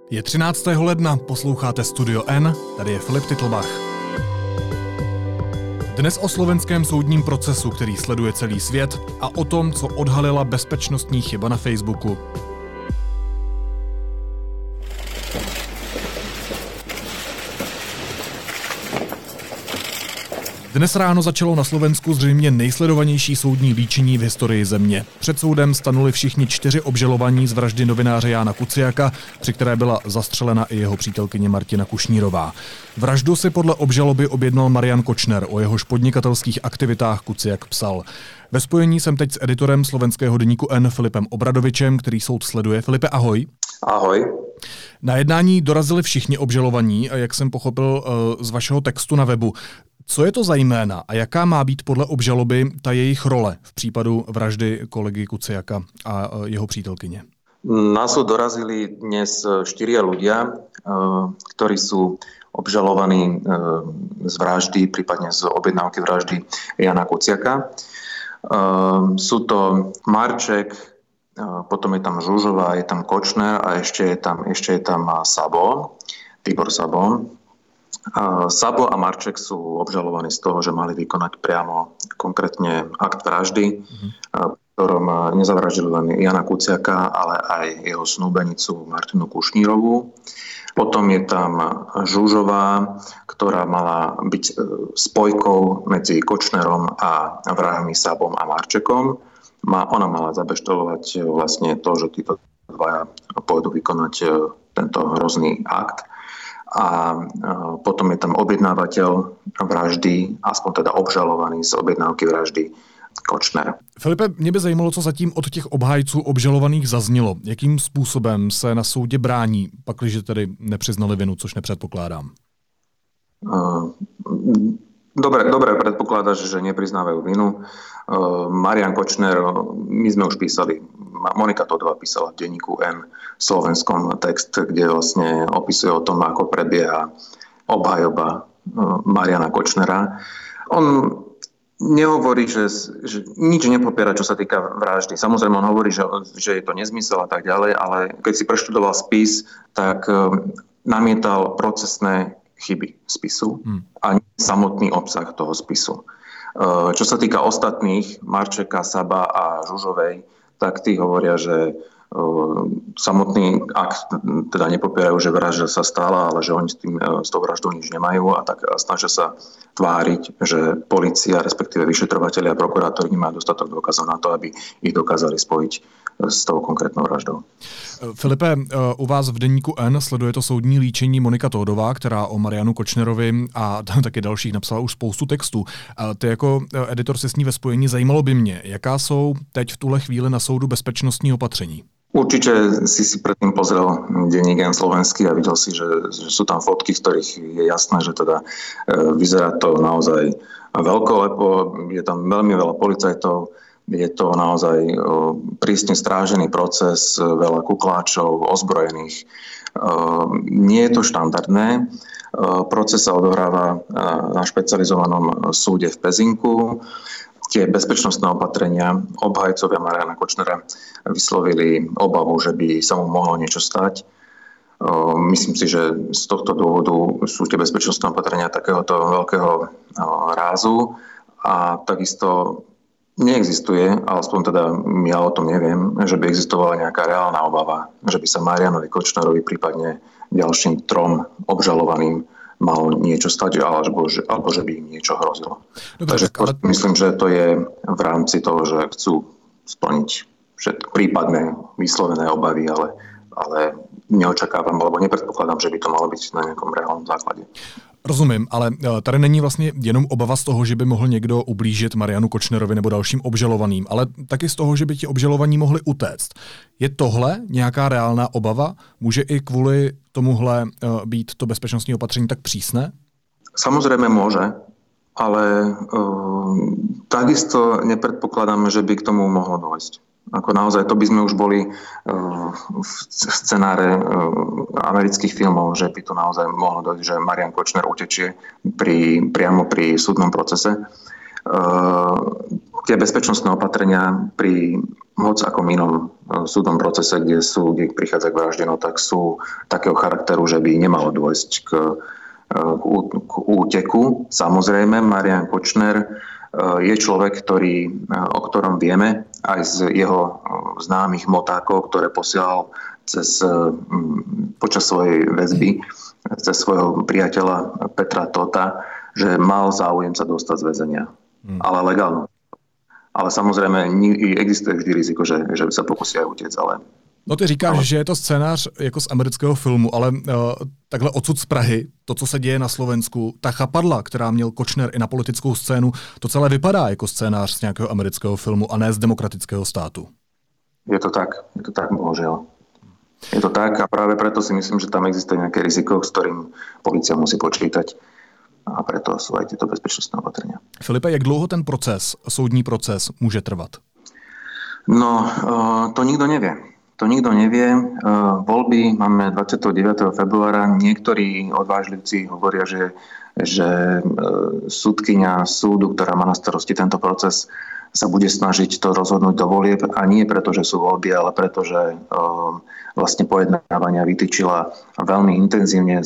Je 13. ledna, posloucháte Studio N, tady je Filip Titlbach. Dnes o slovenském soudním procesu, který sleduje celý svět, a o tom, co odhalila bezpečnostní chyba na Facebooku. Dnes ráno začalo na Slovensku zřejmě nejsledovanější soudní líčení v historii země. Před soudem stanuli všichni 4 obžalovaní z vraždy novináře Jána Kuciaka, při které byla zastřelena i jeho přítelkyně Martina Kušnírová. Vraždu si podle obžaloby objednal Marian Kočner, o jehož podnikatelských aktivitách Kuciak psal. Ve spojení jsem teď s editorem slovenského deníku N Filipem Obradovičem, který soud sleduje. Filipe, ahoj. Ahoj. Na jednání dorazili všichni obžalovaní, jak jsem pochopil z vašeho textu na webu. Co je to za jména a jaká má být podle obžaloby ta jejich role v případu vraždy kolegy Kuciaka a jeho přítelkyně? Na súd dorazili dnes 4 ľudia, ktorí sú obžalovaní z vraždy, prípadne z objednávky vraždy Jana Kuciaka. Sú to Marček, potom je tam Žužová, je tam Kočner a ešte je tam Sabo, Tibor Sabo. Sabo a Marček sú obžalovaní z toho, že mali vykonať priamo konkrétne akt vraždy, v ktorom nezavraždili len Jana Kuciaka, ale aj jeho snúbenicu Martinu Kušnírovú. Potom je tam Žužová, ktorá mala byť spojkou medzi Kočnerom a vrahmi Sabom a Marčekom. Ona mala zabeštelovať vlastne to, že títo dvaja pôjdu vykonať tento hrozný akt. A potom je tam objednávateľ vraždy, aspoň teda obžalovaný z objednávky vraždy Kočner. Filipe, mě by zajímalo, co zatím od těch obhájců obžalovaných zaznělo. Jakým způsobem se na soudě brání, pakliže tedy nepřiznali vinu, což nepředpokládám? Dobre predpokladáš, že nepriznávajú vinu. Marian Kočner, my sme už písali, Monika Todová písala v denníku N slovenskom text, kde vlastne opisuje o tom, ako prebieha obhajoba Mariana Kočnera. On nehovorí, že nič nepopiera, čo sa týka vraždy. Samozrejme, on hovorí, že je to nezmysel a tak ďalej, ale keď si preštudoval spis, tak namietal procesné chyby spisu a samotný obsah toho spisu. Čo sa týka ostatných, Marčeka, Saba a Žužovej, tak tí hovoria, že samotný akt teda nepopierajú, že vražda sa stala, ale že oni s tou vraždou nič nemajú a tak snažia sa tváriť, že polícia, respektíve vyšetrovatelia a prokurátori nemajú dostatok dôkazov na to, aby ich dokázali spojiť s tou konkrétnou vraždou. Filipe, u vás v deníku N sleduje to soudní líčení Monika Todová, která o Marianu Kočnerovi a taky dalších napsala už spoustu textů. Ty jako editor se s ní ve spojení, zajímalo by mě, jaká jsou teď v tuhle chvíli na soudu bezpečnostní opatření? Určite si predtým pozrel denník N slovenský a videl si, že sú tam fotky, z ktorých je jasné, že teda vyzerá to naozaj veľkolepo, je tam veľmi veľa policajtov, je to naozaj prísne strážený proces, veľa kukláčov, ozbrojených. Nie je to štandardné. Proces sa odohráva na špecializovanom súde v Pezinku. Tie bezpečnostné opatrenia obhajcovia Mariana Kočnera vyslovili obavu, že by sa mu mohlo niečo stať. Myslím si, že z tohto dôvodu sú tie bezpečnostné opatrenia takéhoto veľkého rázu a takisto neexistuje, alespoň teda ja o tom neviem, že by existovala nejaká reálna obava, že by sa Marianovi Kočnerovi, prípadne ďalším 3 obžalovaným malo niečo stať, alebo že by im niečo hrozilo. Dobre, takže myslím, že to je v rámci toho, že chcú splniť prípadné vyslovené obavy, ale neočakávam, alebo nepredpokladám, že by to malo byť na nejakom reálnom základe. Rozumím, ale tady není vlastně jenom obava z toho, že by mohl někdo ublížit Marianu Kočnerovi nebo dalším obžalovaným, ale taky z toho, že by ti obžalovaní mohli utéct. Je tohle nějaká reálná obava? Může i kvůli tomuhle být to bezpečnostní opatření tak přísné? Samozrejme môže, ale takisto nepredpokladáme, že by k tomu mohlo dôjsť. Ako naozaj, to by sme už boli v scenáre amerických filmov, že by to naozaj mohlo dojsť, že Marian Kočner utečie priamo pri súdnom procese. tie bezpečnostné opatrenia pri moc ako inom súdnom procese, kde prichádza k vražde, tak sú takého charakteru, že by nemalo dôjsť k úteku. Samozrejme, Marián Kočner je človek, o ktorom vieme aj z jeho známych motákov, ktoré posielal počas svojej väzby cez svojho priateľa Petra Tota, že mal záujem sa dostať z väzenia. Ale legálno. Ale samozrejme existuje vždy riziko, že sa pokusí aj utiec, ale... No ty říkáš, že je to scénář jako z amerického filmu, ale takhle odsud z Prahy, to, co se děje na Slovensku, ta chapadla, která měl Kočner i na politickou scénu, to celé vypadá jako scénář z nějakého amerického filmu a ne z demokratického státu. Je to tak, bohužiaľ. Je to tak a práve preto si myslím, že tam existuje nejaké riziko, s ktorým polícia musí počítať. A preto sú aj tieto bezpečnostné opatrenia. Filipe, jak dlouho ten soudní proces může trvat? No, to nikto nevie. Voľby máme 29. februára. Niektorí odvážlivci hovoria, že súdkyňa súdu, ktorá má na starosti tento proces, sa bude snažiť to rozhodnúť do volieb a nie preto, že sú voľby, ale preto, že vlastne pojednávania vytýčila veľmi intenzívne.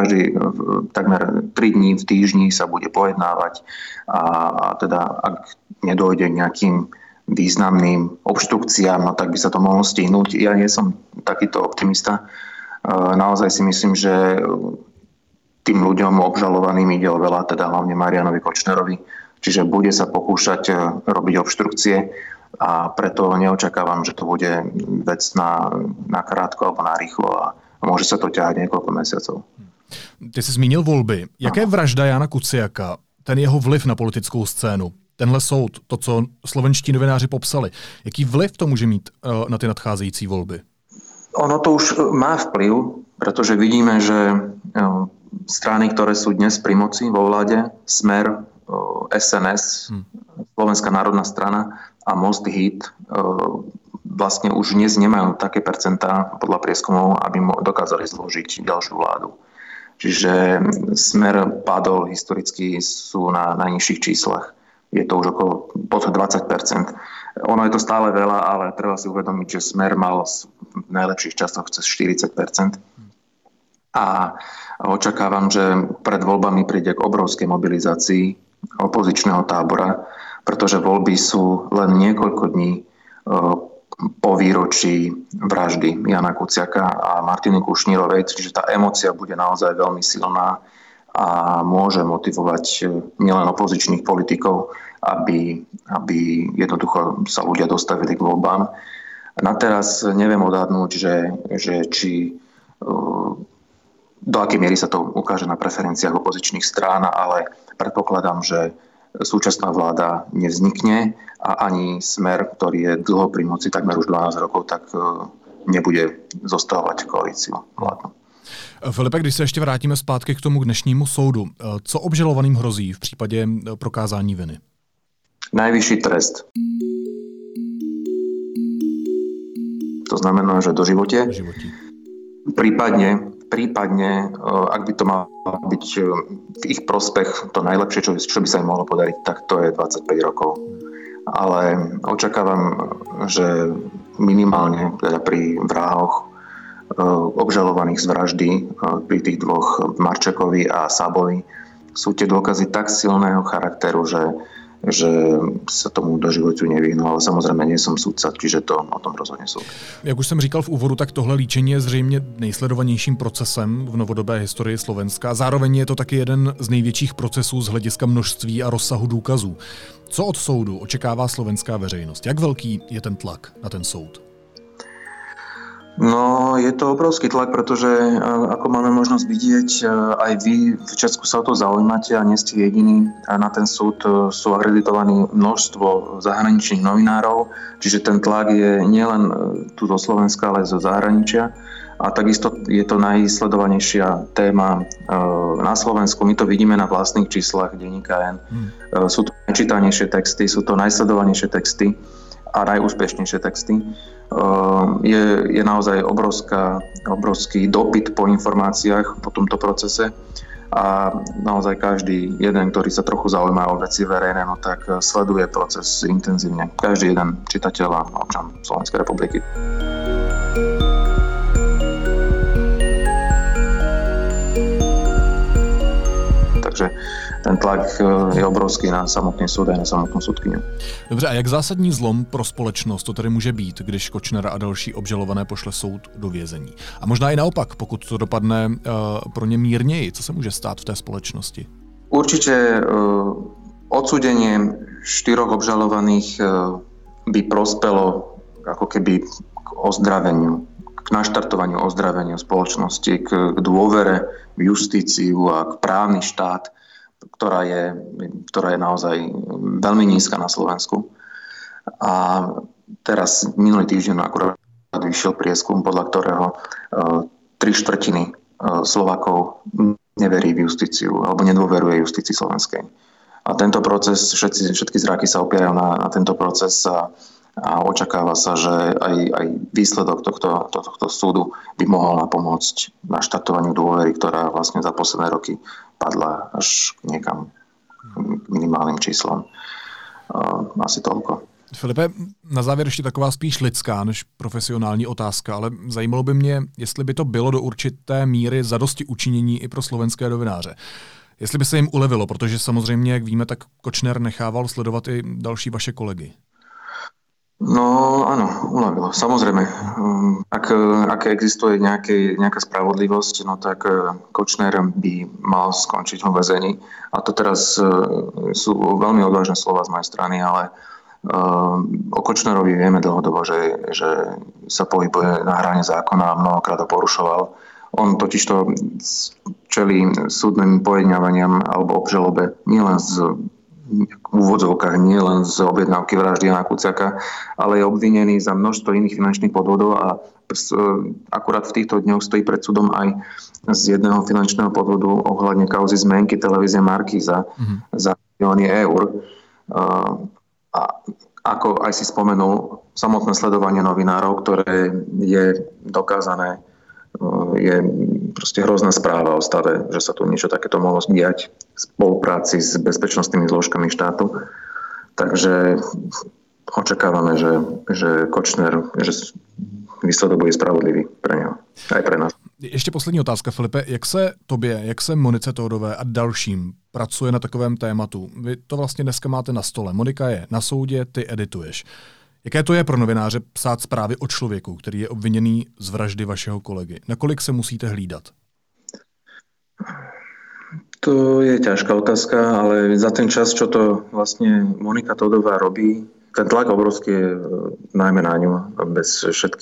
Takmer 3 dní v týždni sa bude pojednávať a teda ak nedôjde k nejakým významným obštrukciám, no tak by sa to mohlo stihnúť. Ja nie som takýto optimista. Naozaj si myslím, že tým ľuďom obžalovaným ide o veľa, teda hlavne Marianovi Kočnerovi. Čiže bude sa pokúšať robiť obštrukcie a preto neočakávam, že to bude vec na krátko alebo na rýchlo a môže sa to ťahať niekoľko mesiacov. Ty jsi zmínil volby. Jaké vražda Jana Kuciaka, ten jeho vliv na politickou scénu, tenhle soud, to, co slovenští novináři popsali, jaký vliv to může mít na ty nadcházející volby? Ono to už má vplyv, pretože vidíme, že strany, ktoré sú dnes pri moci vo vláde, Smer, SNS, Slovenská národná strana a Most Hit vlastne už dnes nemajú také percentá podľa prieskumov, aby dokázali zložiť ďalšiu vládu. Čiže Smer padol historicky, sú na najnižších číslach. Je to už okolo pod 20%. Ono je to stále veľa, ale treba si uvedomiť, že Smer mal v najlepších časoch cez 40%. A očakávam, že pred voľbami príde k obrovskej mobilizácii opozičného tábora, pretože voľby sú len niekoľko dní po výročí vraždy Jana Kuciaka a Martiny Kušnírovej, čiže tá emócia bude naozaj veľmi silná a môže motivovať nielen opozičných politikov, aby jednoducho sa ľudia dostavili k voľbám. Na teraz neviem odhadnúť, že či do akej miery sa to ukáže na preferenciách opozičných strán, ale predpokladám, že súčasná vláda nevznikne a ani Smer, ktorý je dlho pri moci, takmer už 12 rokov, tak nebude zostávať koalíciu vládnu. Filipe, když se ještě vrátíme zpátky k tomu dnešnímu soudu, co obžalovaným hrozí v případě prokázání viny? Najvyšší trest. To znamená, že doživote. Prípadne, ak by to malo byť v ich prospech, to najlepšie, čo by sa im mohlo podariť, tak to je 25 rokov. Ale očakávam, že minimálne teda pri vrahoch obžalovaných z vraždy, pri tých dvoch Marčekovi a Sábovi, sú tie dôkazy tak silného charakteru, že se tomu doživotu nevyhnul, ale samozřejmě nejsem soudca, čiže to o tom rozhodně soud. Jak už jsem říkal v úvodu, tak tohle líčení je zřejmě nejsledovanějším procesem v novodobé historii Slovenska. Zároveň je to taky jeden z největších procesů z hlediska množství a rozsahu důkazů. Co od soudu očekává slovenská veřejnost? Jak velký je ten tlak na ten soud? No, je to obrovský tlak, pretože ako máme možnosť vidieť, aj vy v Česku sa o to zaujímate a nie ste jediní. Na ten súd sú akreditovaní množstvo zahraničných novinárov, čiže ten tlak je nielen tu zo Slovenska, ale zo zahraničia. A takisto je to najsledovanejšia téma na Slovensku. My to vidíme na vlastných číslach denníka N. Sú to najčítanejšie texty, sú to najsledovanejšie texty a najúspešnejšie texty. Je naozaj obrovský dopyt po informáciách po tomto procese a naozaj každý jeden, ktorý sa trochu zaujíma o veci verejné, no tak sleduje proces intenzívne. Každý jeden čitateľ a občan Slovenskej republiky. Takže ten tlak je obrovský na samotný súd a na samotnou súdkyňu. Dobře, a jak zásadní zlom pro společnost to tedy může být, když Kočner a další obžalované pošle soud do vězení? A možná i naopak, pokud to dopadne pro ně mírněji, co se může stát v té společnosti? Určite odsúdenie 4 obžalovaných by prospelo ako keby k ozdraveniu, k naštartovaniu ozdravenia spoločnosti, k dôvere v justíciu a k právny štát, ktorá je naozaj veľmi nízka na Slovensku. A teraz minulý týždeň akurát vyšiel prieskum, podľa ktorého 3/4 Slovákov neverí v justíciu alebo nedôveruje justícii slovenskej. A tento proces, všetky zráky sa opierajú na tento proces a očakáva sa, že aj výsledok tohto súdu by mohol napomôcť na štartovaniu dôvery, ktorá vlastne za posledné roky padla až niekam k minimálnym číslom. Asi toľko. Filipe, na závěr ještě taková spíš lidská než profesionální otázka, ale zajímalo by mě, jestli by to bylo do určité míry zadosti učinění i pro slovenské novináře. Jestli by se jim ulevilo, protože samozřejmě, jak víme, tak Kočner nechával sledovat i další vaše kolegy. No áno, uľavilo. Samozrejme, ak existuje nejaká spravodlivosť, no tak Kočner by mal skončiť vo väzení. A to teraz sú veľmi odvážne slova z mojej strany, ale o Kočnerovi vieme dlhodobo, že sa pohybuje na hrane zákona a mnohokrát ho porušoval. On totižto čelí súdnym pojednávaniam alebo obžalobe nielen v úvodzovkách nie len z objednávky vraždy Jana Kuciaka, ale je obvinený za množstvo iných finančných podvodov a akurát v týchto dňoch stojí pred súdom aj z jedného finančného podvodu ohľadne kauzy zmenky televízie Markíza za milióny eur. A ako aj si spomenul, samotné sledovanie novinárov, ktoré je dokázané, je proste hrozná správa o stave, že sa tu niečo takéto mohlo diať v spolupráci s bezpečnostnými zložkami štátu. Takže očakávame, že Kočner, že výsledok bude spravodlivý pre něho, aj pre nás. Ještě poslední otázka, Filipe. Jak se tobě, jak se Monice Tódové a dalším pracuje na takovém tématu? Vy to vlastně dneska máte na stole. Monika je na soudě, ty edituješ. Jaké to je pro novináře psát zprávy o člověku, který je obviněný z vraždy vašeho kolegy? Nakolik se musíte hlídat? To je ťažká otázka, ale za ten čas, čo to vlastne Monika Tódová robí, ten tlak obrovský je najmä na ňu. Bez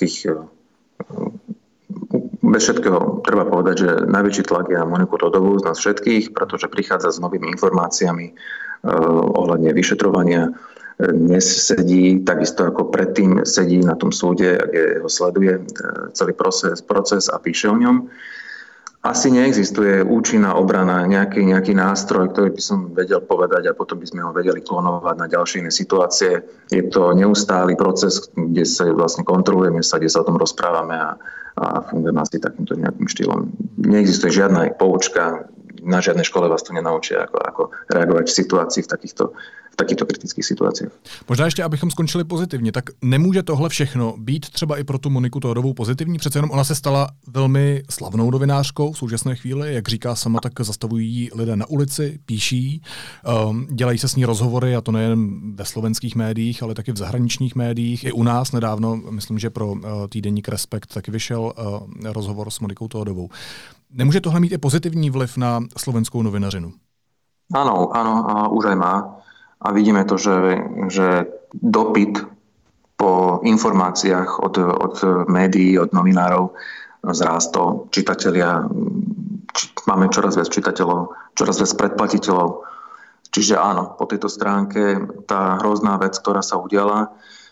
všetkého treba povedať, že najväčší tlak je na Moniku Tódovú z nás všetkých, pretože prichádza s novými informáciami ohľadne vyšetrovania. Dnes sedí, takisto ako predtým sedí na tom súde, kde ho sleduje celý proces a píše o ňom. Asi neexistuje účinná obrana, nejaký nástroj, ktorý by som vedel povedať a potom by sme ho vedeli klonovať na ďalšie iné situácie. Je to neustály proces, kde sa vlastne kontrolujeme sa, kde sa o tom rozprávame a fungujeme asi takýmto nejakým štýlom. Neexistuje žiadna poučka, na žiadnej škole vás to nenaučia, ako reagovať v situácii v takýchto kritických situacích. Možná ještě, abychom skončili pozitivně, tak nemůže tohle všechno být třeba i pro tu Moniku Tódovou pozitivní? Přece jenom ona se stala velmi slavnou novinářkou v současné chvíli, jak říká sama, tak zastavují lidé na ulici, píší, dělají se s ní rozhovory, a to nejen ve slovenských médiích, ale taky v zahraničních médiích. I u nás nedávno, myslím, že pro týdeník Respekt taky vyšel rozhovor s Monikou Tódovou. Nemůže tohle mít i pozitivní vliv na slovenskou novinařinu? Áno, a už aj má. A vidíme to, že dopyt po informáciách od médií, od novinárov zrástol. Čitatelia, máme čoraz viac čitateľov, čoraz viac predplatiteľov. Čiže áno, po tejto stránke tá hrozná vec, ktorá sa udiala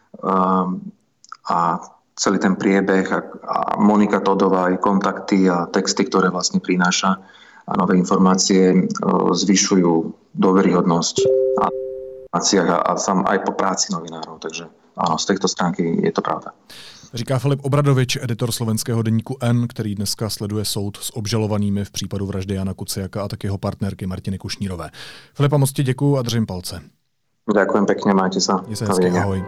a celý ten priebeh a Monika Tódová, aj kontakty a texty, ktoré vlastne prináša a nové informácie zvyšujú dôveryhodnosť a sám aj po práci novinárov. Takže áno, z tejto stránky je to pravda. Říká Filip Obradovič, editor slovenského deníku N, který dneska sleduje soud s obžalovanými v případu vraždy Jana Kuciaka a tak jeho partnerky Martiny Kušnírové. Filipa, moc ti děkuju a držím palce. Ďakujem pekne, majte sa. Ahoj.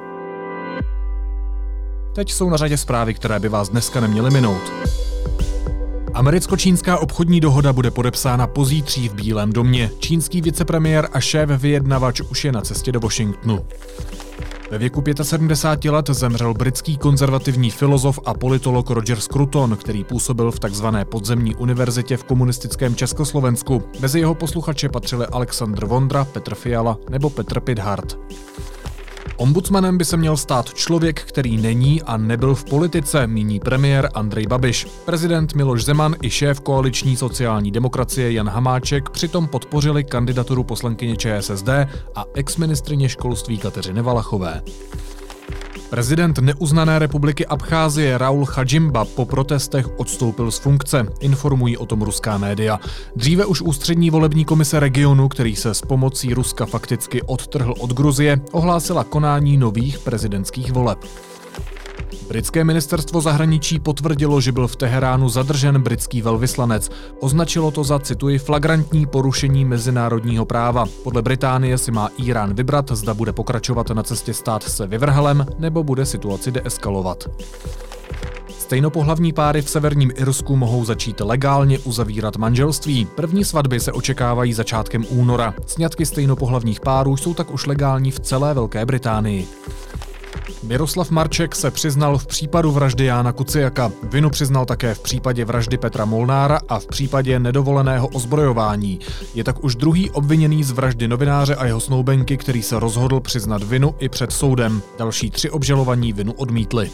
Teď jsou na řadě zprávy, které by vás dneska neměly minout. Americko-čínská obchodní dohoda bude podepsána pozítří v Bílém domě. Čínský vicepremiér a šéf vyjednavač už je na cestě do Washingtonu. Ve věku 75 let zemřel britský konzervativní filozof a politolog Roger Scruton, který působil v takzvané podzemní univerzitě v komunistickém Československu. Mezi jeho posluchače patřili Alexandr Vondra, Petr Fiala nebo Petr Pithart. Ombudsmanem by se měl stát člověk, který není a nebyl v politice, míní premiér Andrej Babiš. Prezident Miloš Zeman i šéf koaliční sociální demokracie Jan Hamáček přitom podpořili kandidaturu poslankyně ČSSD a exministryně školství Kateřiny Valachové. Prezident neuznané republiky Abcházie Raul Chadžimba po protestech odstoupil z funkce, informují o tom ruská média. Dříve už ústřední volební komise regionu, který se s pomocí Ruska fakticky odtrhl od Gruzie, ohlásila konání nových prezidentských voleb. Britské ministerstvo zahraničí potvrdilo, že byl v Teheránu zadržen britský velvyslanec. Označilo to za, cituji, flagrantní porušení mezinárodního práva. Podle Británie si má Írán vybrat, zda bude pokračovat na cestě stát se vyvrhelem, nebo bude situaci deeskalovat. Stejnopohlavní páry v severním Irsku mohou začít legálně uzavírat manželství. První svatby se očekávají začátkem února. Sňatky stejnopohlavních párů jsou tak už legální v celé Velké Británii. Miroslav Marček se přiznal v případu vraždy Jána Kuciaka. Vinu přiznal také v případě vraždy Petra Molnára a v případě nedovoleného ozbrojování. Je tak už druhý obviněný z vraždy novináře a jeho snoubenky, který se rozhodl přiznat vinu i před soudem. Další 3 obžalovaní vinu odmítli.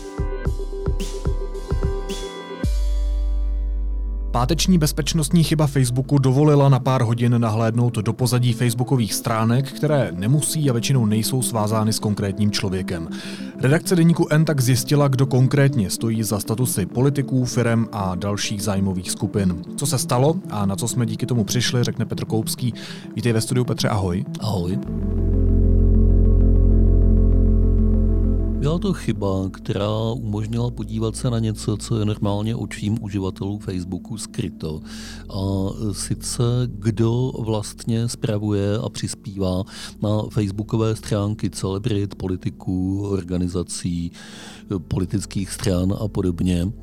Páteční bezpečnostní chyba Facebooku dovolila na pár hodin nahlédnout do pozadí facebookových stránek, které nemusí a většinou nejsou svázány s konkrétním člověkem. Redakce deníku N tak zjistila, kdo konkrétně stojí za statusy politiků, firem a dalších zájmových skupin. Co se stalo a na co jsme díky tomu přišli, řekne Petr Koupský. Vítej ve studiu, Petře, ahoj. Ahoj. Byla to chyba, která umožnila podívat se na něco, co je normálně očím uživatelů Facebooku skryto. A sice kdo vlastně spravuje a přispívá na facebookové stránky celebrit, politiků, organizací, politických stran a podobně.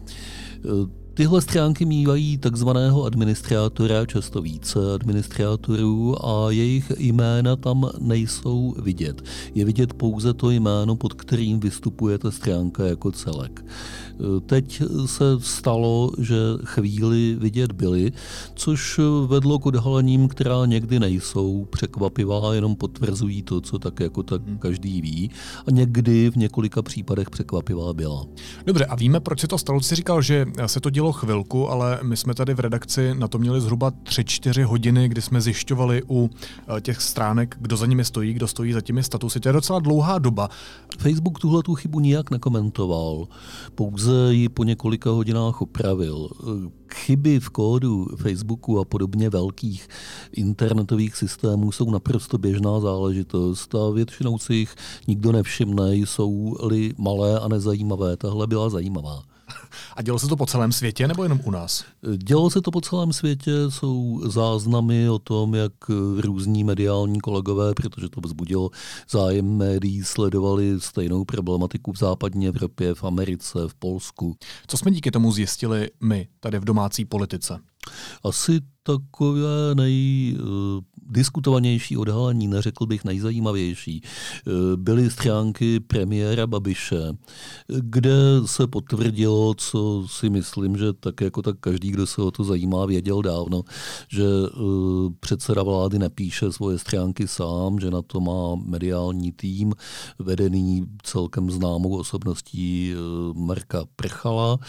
Tyhle stránky mívají takzvaného administrátora, často více administrátorů a jejich jména tam nejsou vidět. Je vidět pouze to jméno, pod kterým vystupuje ta stránka jako celek. Teď se stalo, že chvíli vidět byly, což vedlo k odhalením, která někdy nejsou překvapivá, jenom potvrzují to, co tak jako tak každý ví, a někdy v několika případech překvapivá byla. Dobře, a víme, proč se to stalo? Jsi říkal, že se to dělo chvilku, ale my jsme tady v redakci na to měli zhruba 3-4 hodiny, kdy jsme zjišťovali u těch stránek, kdo za nimi stojí, kdo stojí za těmi statusy. To je docela dlouhá doba. Facebook tuhletu chybu nijak nekomentoval, pouze ji po několika hodinách opravil. Chyby v kódu Facebooku a podobně velkých internetových systémů jsou naprosto běžná záležitost a většinou si jich nikdo nevšimne, jsou-li malé a nezajímavé. Tahle byla zajímavá. A dělo se to po celém světě nebo jenom u nás? Dělo se to po celém světě, jsou záznamy o tom, jak různí mediální kolegové, protože to vzbudilo zájem médií, sledovali stejnou problematiku v západní Evropě, v Americe, v Polsku. Co jsme díky tomu zjistili my tady v domácí politice? Asi takové nejdiskutovanější odhalení, neřekl bych nejzajímavější, byly stránky premiéra Babiše, kde se potvrdilo, co si myslím, že tak jako tak každý, kdo se o to zajímá, věděl dávno, že předseda vlády nepíše svoje stránky sám, že na to má mediální tým vedený celkem známou osobností Marka Prchala.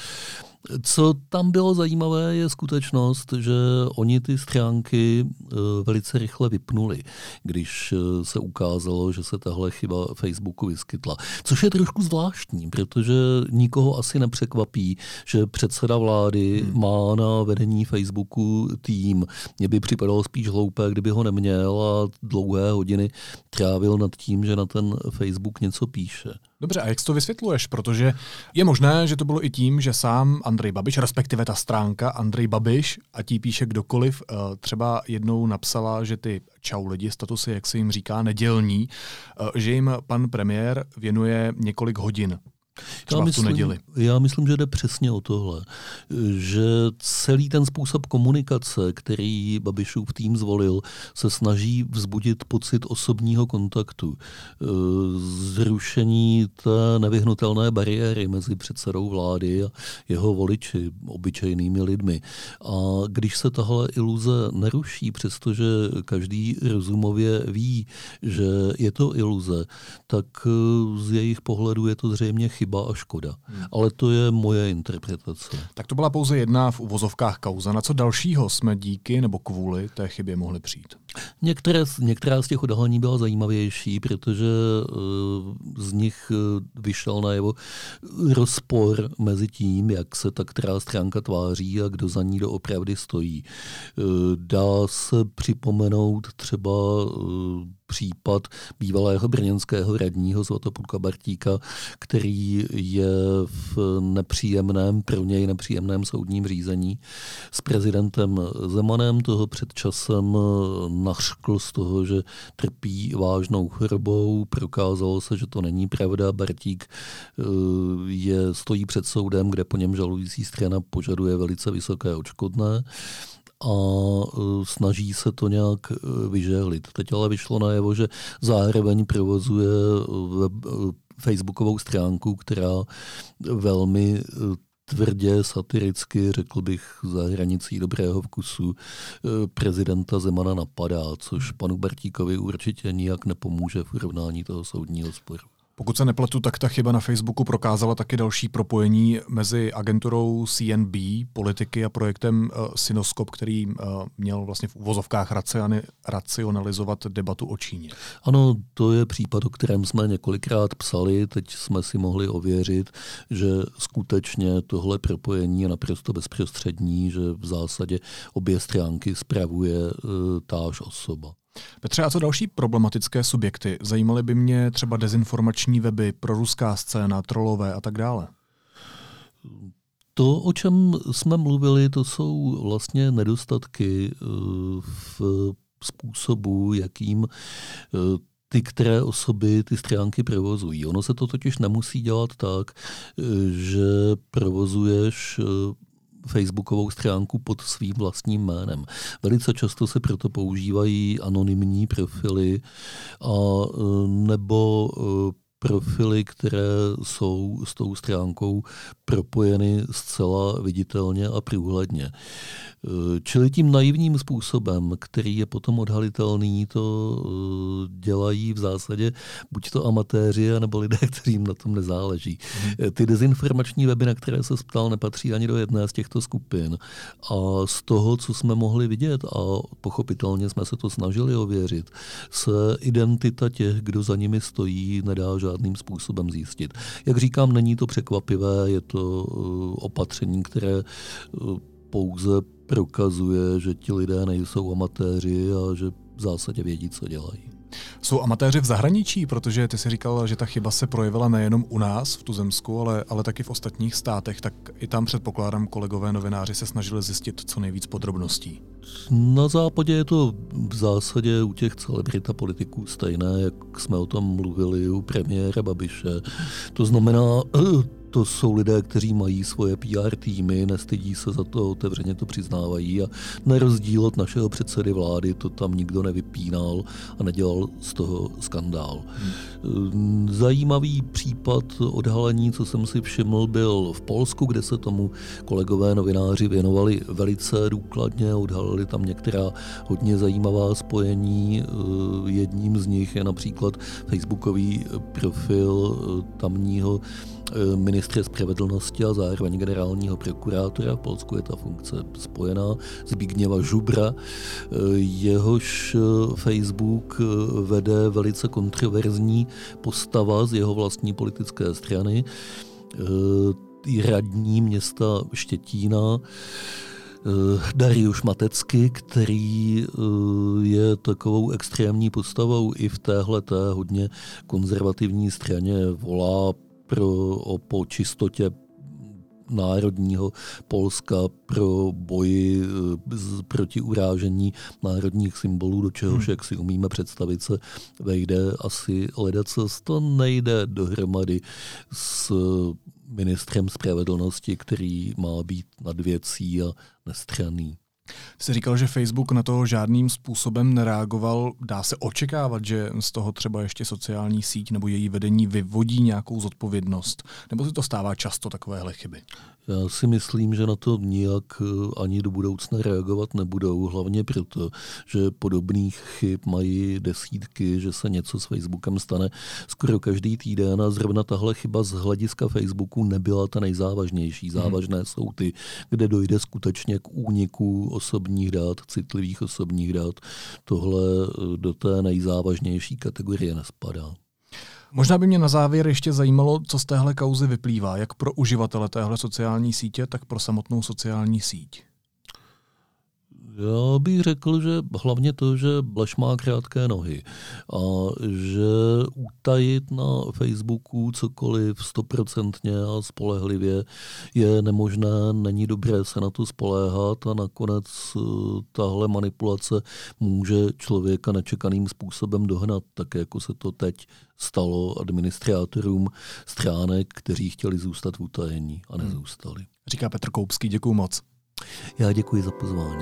Co tam bylo zajímavé, je skutečnost, že oni ty stránky velice rychle vypnuli, když se ukázalo, že se tahle chyba Facebooku vyskytla. Což je trošku zvláštní, protože nikoho asi nepřekvapí, že předseda vlády má na vedení Facebooku tým. Mně by připadalo spíš hloupé, kdyby ho neměl a dlouhé hodiny trávil nad tím, že na ten Facebook něco píše. Dobře, a jak to vysvětluješ? Protože je možné, že to bylo i tím, že sám Andrej Babiš, respektive ta stránka Andrej Babiš, ať jí píše kdokoliv, třeba jednou napsala, že ty čau lidi, statusy, jak se jim říká, nedělní, že jim pan premiér věnuje několik hodin. Já myslím, že jde přesně o tohle, že celý ten způsob komunikace, který Babišův tým zvolil, se snaží vzbudit pocit osobního kontaktu, zrušení té nevyhnutelné bariéry mezi předsedou vlády a jeho voliči, obyčejnými lidmi. A když se tahle iluze neruší, přestože každý rozumově ví, že je to iluze, tak z jejich pohledu je to zřejmě chyba a škoda. Ale to je moje interpretace. Tak to byla pouze jedna v uvozovkách kauza. Na co dalšího jsme díky nebo kvůli té chybě mohli přijít? Některá z těch odhalení byla zajímavější, protože z nich vyšel najevo rozpor mezi tím, jak se ta která stránka tváří a kdo za ní doopravdy stojí. Dá se připomenout třeba případ bývalého brněnského radního Svatopluka Bartíka, který je v pro něj nepříjemném soudním řízení s prezidentem Zemanem. Toho před časem nařkl z toho, že trpí vážnou chorobou. Prokázalo se, že to není pravda. Bartík stojí před soudem, kde po něm žalující strana požaduje velice vysoké odškodné a snaží se to nějak vyžehlit. Teď ale vyšlo najevo, že zároveň provozuje facebookovou stránku, která velmi tvrdě, satiricky, řekl bych, za hranicí dobrého vkusu, prezidenta Zemana napadá, což panu Bartíkovi určitě nijak nepomůže v urovnání toho soudního sporu. Pokud se nepletu, tak ta chyba na Facebooku prokázala taky další propojení mezi agenturou CNB, politiky a projektem Synoskop, který měl vlastně v uvozovkách racionalizovat debatu o Číně. Ano, to je případ, o kterém jsme několikrát psali, teď jsme si mohli ověřit, že skutečně tohle propojení je naprosto bezprostřední, že v zásadě obě stránky spravuje táž osoba. Petře, a co další problematické subjekty? Zajímaly by mě třeba dezinformační weby, proruská scéna, trolové a tak dále. To, o čem jsme mluvili, to jsou vlastně nedostatky v způsobu, jakým ty které osoby ty stránky provozují. Ono se to totiž nemusí dělat tak, že provozuješ facebookovou stránku pod svým vlastním jménem. Velice často se proto používají anonymní profily a nebo profily, které jsou s tou stránkou propojeny zcela viditelně a průhledně. Čili tím naivním způsobem, který je potom odhalitelný, to dělají v zásadě buď to amatéři, nebo lidé, kterým na tom nezáleží. Ty dezinformační weby, na které se ptal, nepatří ani do jedné z těchto skupin. A z toho, co jsme mohli vidět, a pochopitelně jsme se to snažili ověřit, se identita těch, kdo za nimi stojí, nedá žádným způsobem zjistit. Jak říkám, není to překvapivé, je to opatření, které pouze prokazuje, že ti lidé nejsou amatéři a že v zásadě vědí, co dělají. Jsou amatéři v zahraničí, protože ty jsi říkal, že ta chyba se projevila nejenom u nás v tuzemsku, ale taky v ostatních státech, tak i tam předpokládám kolegové novináři se snažili zjistit co nejvíc podrobností. Na západě je to v zásadě u těch celebrit a politiků stejné, jak jsme o tom mluvili u premiéra Babiše. To znamená, to jsou lidé, kteří mají svoje PR týmy, nestydí se za to, otevřeně to přiznávají a na rozdíl od našeho předsedy vlády to tam nikdo nevypínal a nedělal z toho skandál. Zajímavý případ odhalení, co jsem si všiml, byl v Polsku, kde se tomu kolegové novináři věnovali velice důkladně, odhalili tam některá hodně zajímavá spojení. Jedním z nich je například facebookový profil tamního ministra spravedlnosti a zároveň generálního prokurátora. V Polsku je ta funkce spojená, Zbigniewa Żubra. Jehož Facebook vede velice kontroverzní postava z jeho vlastní politické strany, radní města Štětína, Dariusz Matecky, který je takovou extrémní postavou i v téhleté hodně konzervativní straně, volá po čistotě národního Polska, pro boji proti urážení národních symbolů, do čehož, jak si umíme představit, se vejde asi ledacos. To nejde dohromady s ministrem spravedlnosti, který má být nad věcí a nestranný. Jsi říkal, že Facebook na to žádným způsobem nereagoval. Dá se očekávat, že z toho třeba ještě sociální síť nebo její vedení vyvodí nějakou zodpovědnost? Nebo se to stává často takovéhle chyby? Já si myslím, že na to nijak ani do budoucna reagovat nebudou. Hlavně proto, že podobných chyb mají desítky, že se něco s Facebookem stane skoro každý týden a zrovna tahle chyba z hlediska Facebooku nebyla ta nejzávažnější. Závažné jsou ty, kde dojde skutečně k úniku osobních dat, citlivých osobních dat. Tohle do té nejzávažnější kategorie nespadá. Možná by mě na závěr ještě zajímalo, co z téhle kauzy vyplývá, jak pro uživatele téhle sociální sítě, tak pro samotnou sociální síť. Já bych řekl, že hlavně to, že Bleš má krátké nohy a že utajit na Facebooku cokoliv 100% a spolehlivě je nemožné, není dobré se na to spoléhat a nakonec tahle manipulace může člověka nečekaným způsobem dohnat, tak jako se to teď stalo administrátorům stránek, kteří chtěli zůstat v utajení a nezůstali. Říká Petr Koupský, děkuju moc. Já děkuji za pozvání.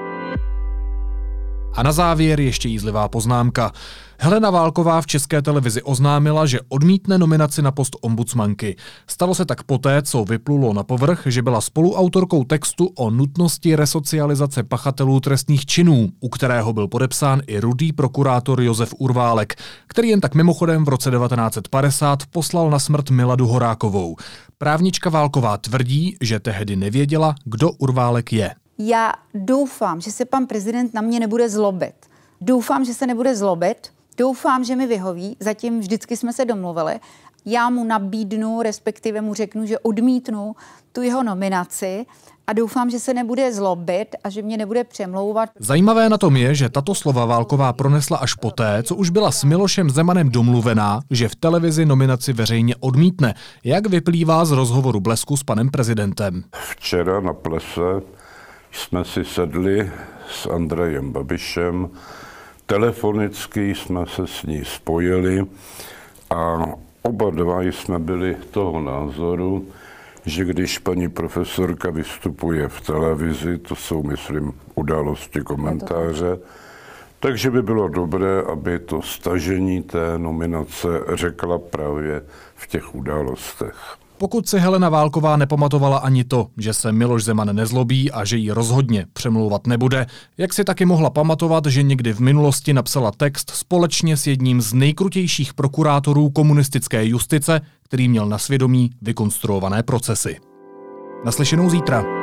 A na závěr ještě jízlivá poznámka. Helena Válková v České televizi oznámila, že odmítne nominaci na post ombudsmanky. Stalo se tak poté, co vyplulo na povrch, že byla spoluautorkou textu o nutnosti resocializace pachatelů trestných činů, u kterého byl podepsán i rudý prokurátor Josef Urválek, který jen tak mimochodem v roce 1950 poslal na smrt Miladu Horákovou. Právnička Válková tvrdí, že tehdy nevěděla, kdo Urválek je. Já doufám, že se pan prezident na mě nebude zlobit. Doufám, že se nebude zlobit. Doufám, že mi vyhoví. Zatím vždycky jsme se domluvili. Já mu nabídnu, respektive mu řeknu, že odmítnu tu jeho nominaci a doufám, že se nebude zlobit a že mě nebude přemlouvat. Zajímavé na tom je, že tato slova Válková pronesla až poté, co už byla s Milošem Zemanem domluvená, že v televizi nominaci veřejně odmítne, jak vyplývá z rozhovoru Blesku s panem prezidentem. Včera na plese jsme si sedli s Andrejem Babišem, telefonicky jsme se s ní spojili a oba dva jsme byli toho názoru, že když paní profesorka vystupuje v televizi, to jsou, myslím, Události, komentáře, takže by bylo dobré, aby to stažení té nominace řekla právě v těch Událostech. Pokud si Helena Válková nepamatovala ani to, že se Miloš Zeman nezlobí a že jí rozhodně přemlouvat nebude, jak si taky mohla pamatovat, že někdy v minulosti napsala text společně s jedním z nejkrutějších prokurátorů komunistické justice, který měl na svědomí vykonstruované procesy. Naslyšenou zítra.